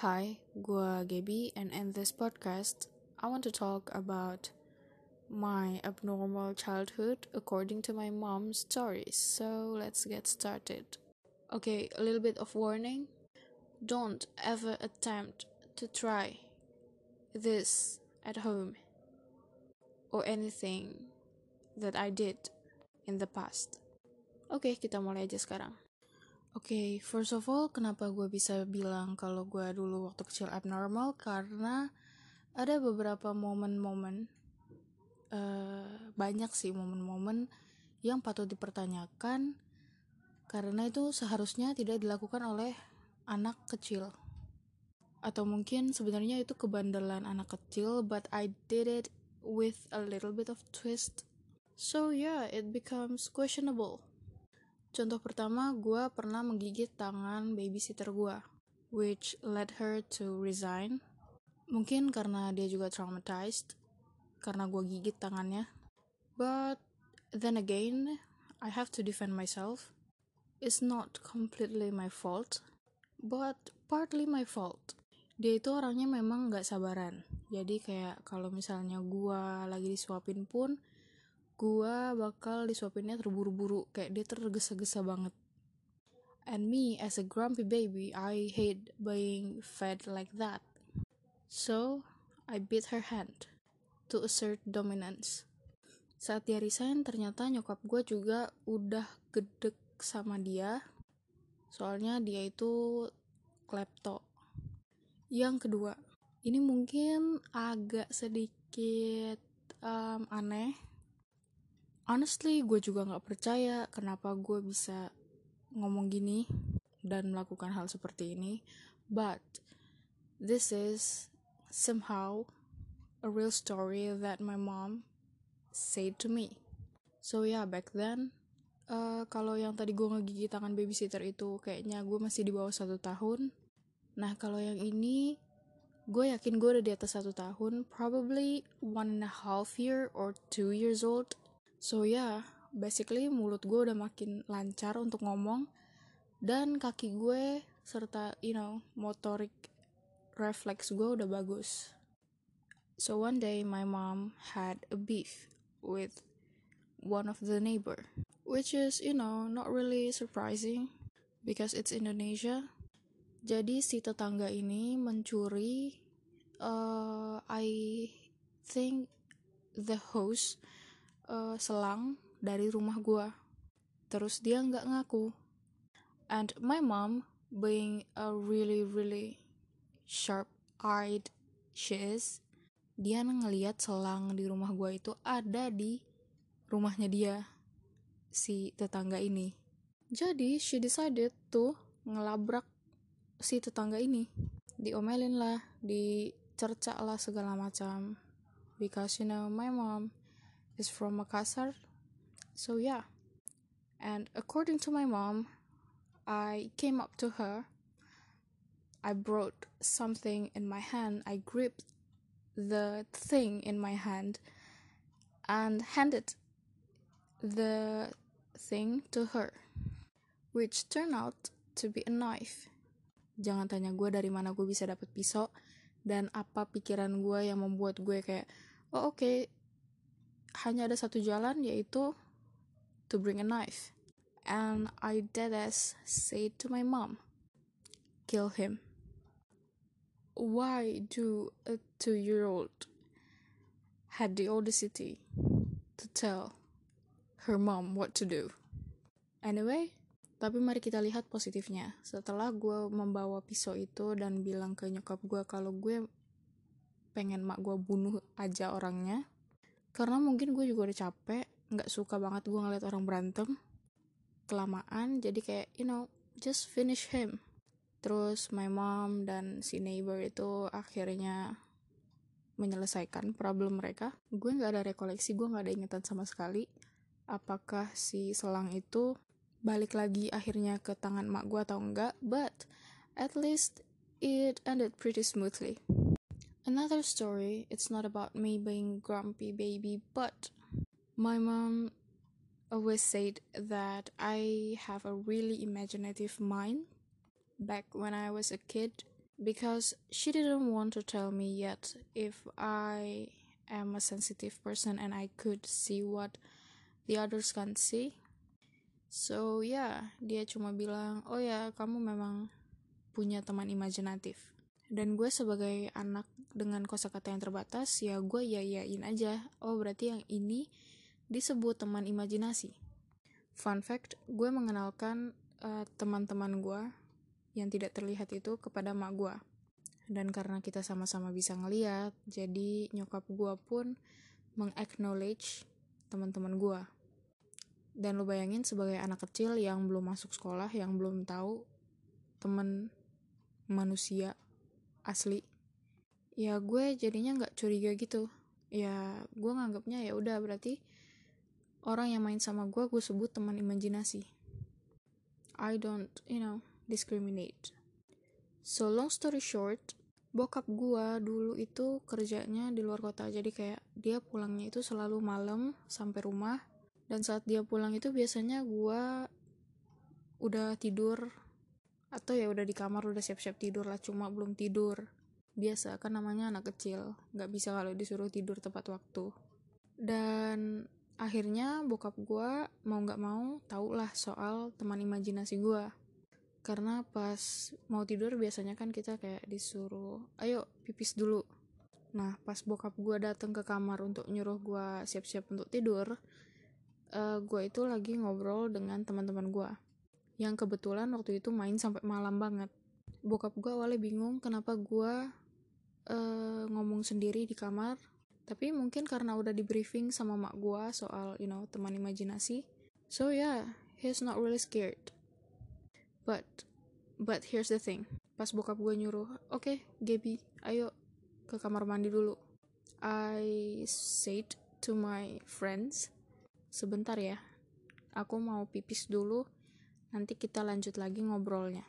Hi, gua Gaby, and in this podcast, I want to talk about my abnormal childhood according to my mom's stories. So let's get started. Okay, a little bit of warning. Don't ever attempt to try this at home or anything that I did in the past. Oke, kita mulai aja sekarang. Oke, first of all, kenapa gue bisa bilang kalau gue dulu waktu kecil abnormal? Karena ada beberapa momen-momen, banyak sih momen-momen yang patut dipertanyakan, karena itu seharusnya tidak dilakukan oleh anak kecil. Atau mungkin sebenarnya itu kebandelan anak kecil, but I did it with a little bit of twist. So yeah, it becomes questionable. Contoh pertama, gue pernah menggigit tangan babysitter gue, which led her to resign. Mungkin karena dia juga traumatized, karena gue gigit tangannya. But then again, I have to defend myself. It's not completely my fault, but partly my fault. Dia itu orangnya memang gak sabaran. Jadi kayak kalau misalnya gue lagi disuapin pun, gue bakal disuapinnya terburu-buru, kayak dia tergesa-gesa banget. And me as a grumpy baby, I hate being fed like that. So I bit her hand to assert dominance. Saat dia resign, ternyata nyokap gue juga udah gedek sama dia, soalnya dia itu klepto. Yang kedua, ini mungkin agak sedikit aneh. Honestly, gue juga gak percaya kenapa gue bisa ngomong gini dan melakukan hal seperti ini. But this is somehow a real story that my mom said to me. So yeah, back then, kalau yang tadi gue ngegigit tangan babysitter itu kayaknya gue masih di bawah 1 tahun. Nah kalau yang ini, gue yakin gue udah di atas 1 tahun, probably 1.5 year or 2 years old. So yeah, basically mulut gue udah makin lancar untuk ngomong, dan kaki gue serta motorik refleks gue udah bagus. So one day my mom had a beef with one of the neighbor, which is not really surprising because it's Indonesia. Jadi si tetangga ini mencuri I think the hose, selang dari rumah gue. Terus dia nggak ngaku. And my mom, being a really really sharp-eyed she is, dia ngeliat selang di rumah gue itu ada di rumahnya dia, si tetangga ini. Jadi she decided to ngelabrak si tetangga ini. Diomelin lah, dicerca lah segala macam. Because my mom is from Makassar. So yeah. And according to my mom, I came up to her. I brought something in my hand. I gripped the thing in my hand and handed the thing to her, which turned out to be a knife. Jangan tanya gue dari mana gue bisa dapet pisau dan apa pikiran gue yang membuat gue kayak, okay, hanya ada satu jalan, yaitu to bring a knife. And I deadass said to my mom, kill him. Why do a 2-year-old had the audacity to tell her mom what to do? Anyway, tapi mari kita lihat positifnya. Setelah gue membawa pisau itu dan bilang ke nyokap gue kalau gue pengen mak gue bunuh aja orangnya, karena mungkin gue juga udah capek, gak suka banget gue ngeliat orang berantem kelamaan, jadi kayak just finish him. Terus my mom dan si neighbor itu akhirnya menyelesaikan problem mereka. Gue gak ada rekoleksi, gue gak ada ingatan sama sekali apakah si selang itu balik lagi akhirnya ke tangan mak gue atau enggak, but at least it ended pretty smoothly. Another story, it's not about me being grumpy baby, but my mom always said that I have a really imaginative mind. Back when I was a kid, because she didn't want to tell me yet if I am a sensitive person and I could see what the others can't see. So dia cuma bilang, oh ya kamu memang punya teman imajinatif. Dan gue sebagai anak dengan kosakata yang terbatas, ya gue yain aja. Oh berarti yang ini disebut teman imajinasi. Fun fact, gue mengenalkan teman-teman gue yang tidak terlihat itu kepada mak gue. Dan karena kita sama-sama bisa ngeliat, jadi nyokap gue pun meng-acknowledge teman-teman gue. Dan lo bayangin sebagai anak kecil yang belum masuk sekolah, yang belum tahu teman manusia asli, ya gue jadinya nggak curiga gitu. Ya gue nganggapnya ya udah berarti orang yang main sama gue sebut teman imajinasi. I don't discriminate. So long story short, bokap gue dulu itu kerjanya di luar kota, jadi kayak dia pulangnya itu selalu malam sampai rumah. Dan saat dia pulang itu biasanya gue udah tidur, atau ya udah di kamar udah siap-siap tidur lah, cuma belum tidur. Biasa kan namanya anak kecil, gak bisa kalau disuruh tidur tepat waktu. Dan akhirnya bokap gue mau gak mau tau lah soal teman imajinasi gue. Karena pas mau tidur biasanya kan kita kayak disuruh, ayo pipis dulu. Nah pas bokap gue datang ke kamar untuk nyuruh gue siap-siap untuk tidur, gue itu lagi ngobrol dengan teman-teman gue yang kebetulan waktu itu main sampai malam banget. Bokap gue awalnya bingung kenapa gue ngomong sendiri di kamar, tapi mungkin karena udah di briefing sama mak gue soal teman imajinasi. So he's not really scared. But here's the thing, pas bokap gue nyuruh, oke, Gaby, ayo ke kamar mandi dulu, I said to my friends, sebentar ya, aku mau pipis dulu, nanti kita lanjut lagi ngobrolnya.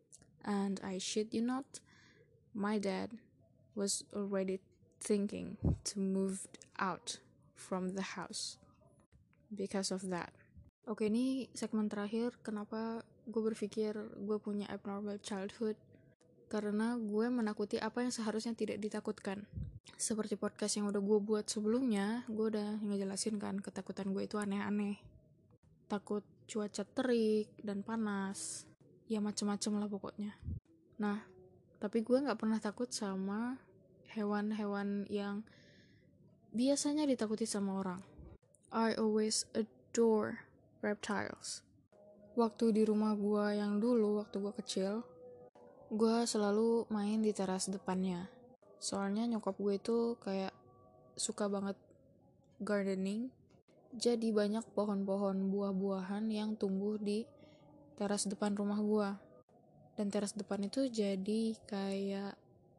And I shit you not, my dad was already thinking to move out from the house because of that. Oke, ini segmen terakhir kenapa gue berpikir gue punya abnormal childhood. Karena gue menakuti apa yang seharusnya tidak ditakutkan. Seperti podcast yang udah gue buat sebelumnya, gue udah ngejelasin kan ketakutan gue itu aneh-aneh. Takut cuaca terik dan panas, ya macem-macem lah pokoknya. Nah, tapi gue gak pernah takut sama hewan-hewan yang biasanya ditakuti sama orang. I always adore reptiles. Waktu di rumah gue yang dulu, waktu gue kecil, gue selalu main di teras depannya. Soalnya nyokap gue itu kayak suka banget gardening. Jadi banyak pohon-pohon buah-buahan yang tumbuh di teras depan rumah gue. Dan teras depan itu jadi kayak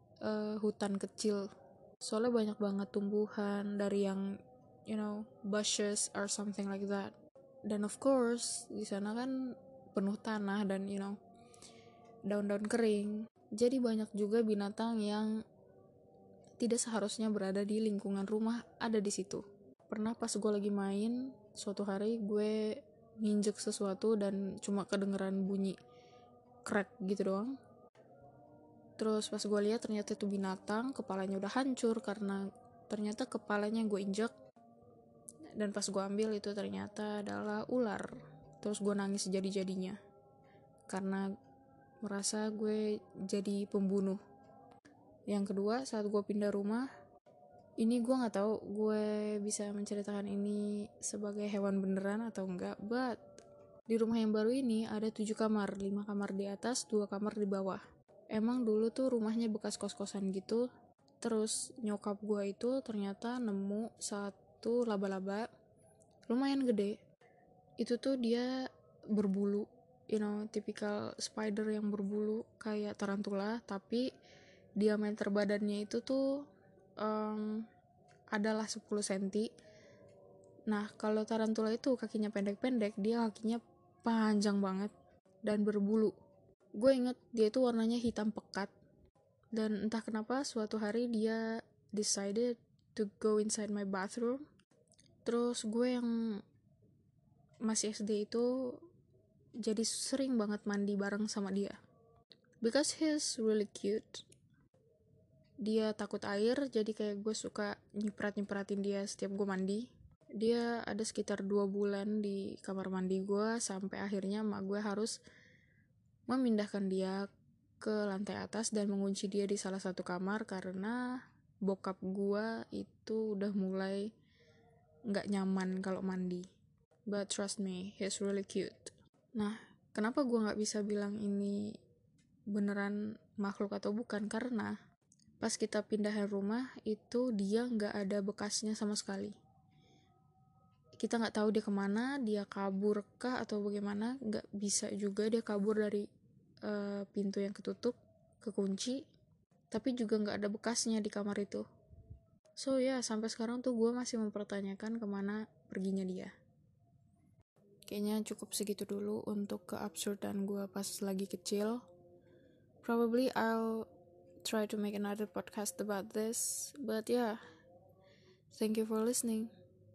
hutan kecil. Soalnya banyak banget tumbuhan dari yang bushes or something like that. Dan of course di sana kan penuh tanah dan daun-daun kering. Jadi banyak juga binatang yang tidak seharusnya berada di lingkungan rumah ada di situ. Pernah pas gue lagi main, suatu hari gue nginjek sesuatu dan cuma kedengeran bunyi crack gitu doang. Terus pas gue lihat ternyata itu binatang, kepalanya udah hancur karena ternyata kepalanya gue injek. Dan pas gue ambil itu ternyata adalah ular. Terus gue nangis jadi-jadinya karena merasa gue jadi pembunuh. Yang kedua, saat gue pindah rumah, ini gue nggak tahu gue bisa menceritakan ini sebagai hewan beneran atau enggak, but di rumah yang baru ini ada 7 kamar, 5 kamar di atas, 2 kamar di bawah. Emang dulu tuh rumahnya bekas kos-kosan gitu. Terus nyokap gue itu ternyata nemu satu laba-laba lumayan gede. Itu tuh dia berbulu, tipikal spider yang berbulu kayak tarantula, tapi diameter badannya itu tuh adalah 10 cm. Nah kalau tarantula itu kakinya pendek-pendek, dia kakinya panjang banget dan berbulu. Gue inget dia itu warnanya hitam pekat. Dan entah kenapa suatu hari dia decided to go inside my bathroom. Terus gue yang masih SD itu jadi sering banget mandi bareng sama dia. because he's really cute. Dia takut air, jadi kayak gue suka nyiprat-nyipratin dia setiap gue mandi. Dia ada sekitar 2 bulan di kamar mandi gue, sampai akhirnya mak gue harus memindahkan dia ke lantai atas dan mengunci dia di salah satu kamar karena bokap gue itu udah mulai gak nyaman kalau mandi. But trust me, he's really cute. Nah, kenapa gue gak bisa bilang ini beneran makhluk atau bukan? Karena pas kita pindahin rumah itu dia nggak ada bekasnya sama sekali. Kita nggak tahu dia kemana, dia kabur kah atau bagaimana. Nggak bisa juga dia kabur dari pintu yang kekunci, tapi juga nggak ada bekasnya di kamar itu. So ya, sampai sekarang tuh gue masih mempertanyakan kemana perginya dia. Kayaknya cukup segitu dulu untuk keabsurdan gue pas lagi kecil. Probably I'll try to make another podcast about this, but yeah, thank you for listening.